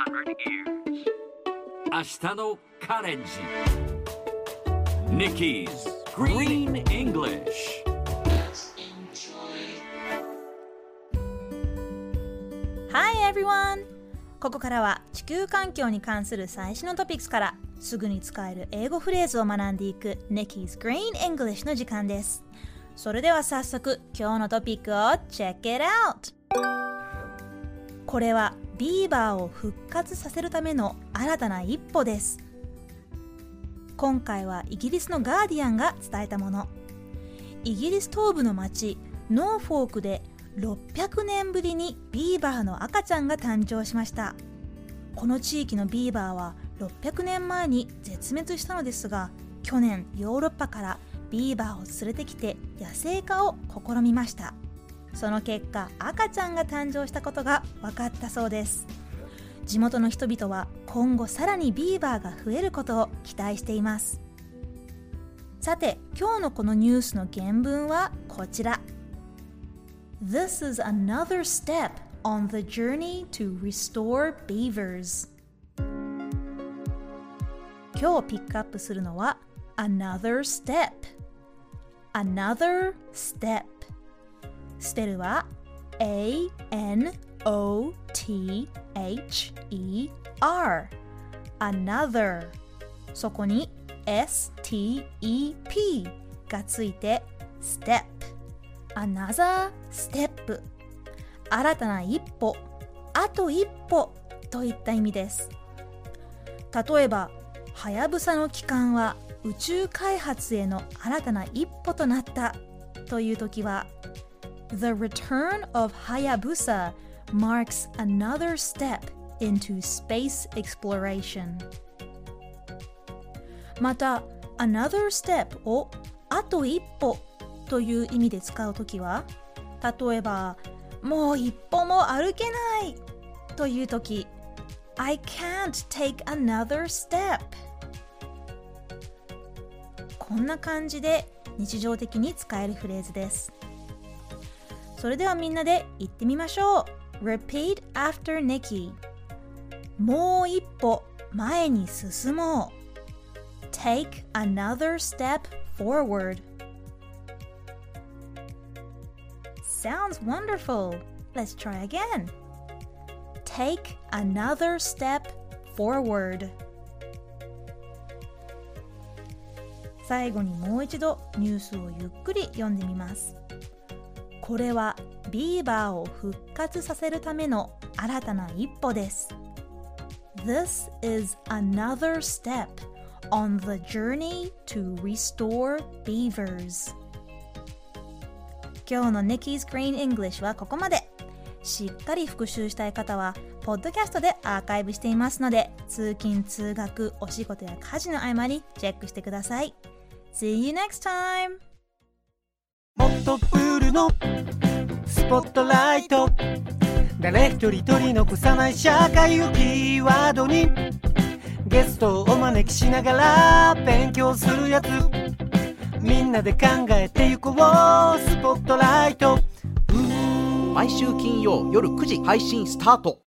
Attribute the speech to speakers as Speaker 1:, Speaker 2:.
Speaker 1: 明日のカレンジ Nikki's Green English。
Speaker 2: Hi everyone! ここからは地球環境に関する最新のトピックスからすぐに使える英語フレーズを学んでいく Nikki's Green English の時間です。それでは早速今日のトピックを Check it out! これはビーバーを復活させるための新たな一歩です。今回はイギリスのガーディアンが伝えたもの。イギリス東部の町ノーフォークで600年ぶりにビーバーの赤ちゃんが誕生しました。この地域のビーバーは600年前に絶滅したのですが、去年ヨーロッパからビーバーを連れてきて野生化を試みました。その結果赤ちゃんが誕生したことが分かったそうです。地元の人々は今後さらにビーバーが増えることを期待しています。さて今日のこのニュースの原文はこちら。 This is another step on the journey to restore beavers。 今日ピックアップするのは another step。 another step、スペルは A-N-O-T-H-E-R Another、 そこに S-T-E-P がついて Step Another Step、 新たな一歩、あと一歩といった意味です。例えばはやぶさの帰還は宇宙開発への新たな一歩となったという時はThe return of Hayabusa marks another step into space exploration。 また another step をあと一歩という意味で使うときは、例えばもう一歩も歩けないというとき I can't take another step。 こんな感じで日常的に使えるフレーズです。それではみんなで言ってみましょう。 Repeat after Nikki。 もう一歩前に進もう。 Take another step forward。 Sounds wonderful. Let's try again. Take another step forward。 最後にもう一度ニュースをゆっくり読んでみます。これはビーバーを復活させるための新たな一歩です。 This is another step on the journey to restore beavers。 今日の Nikki's Green English はここまで。しっかり復習したい方はポッドキャストでアーカイブしていますので、通勤通学お仕事や家事の合間にチェックしてください。 See you next time。
Speaker 3: もっとプールのスポットライト、誰一人取り残さない社会をキーワードにゲストをお招きしながら勉強するやつ、みんなで考えてゆこうスポットライト。
Speaker 4: 毎週金曜夜9時配信スタート。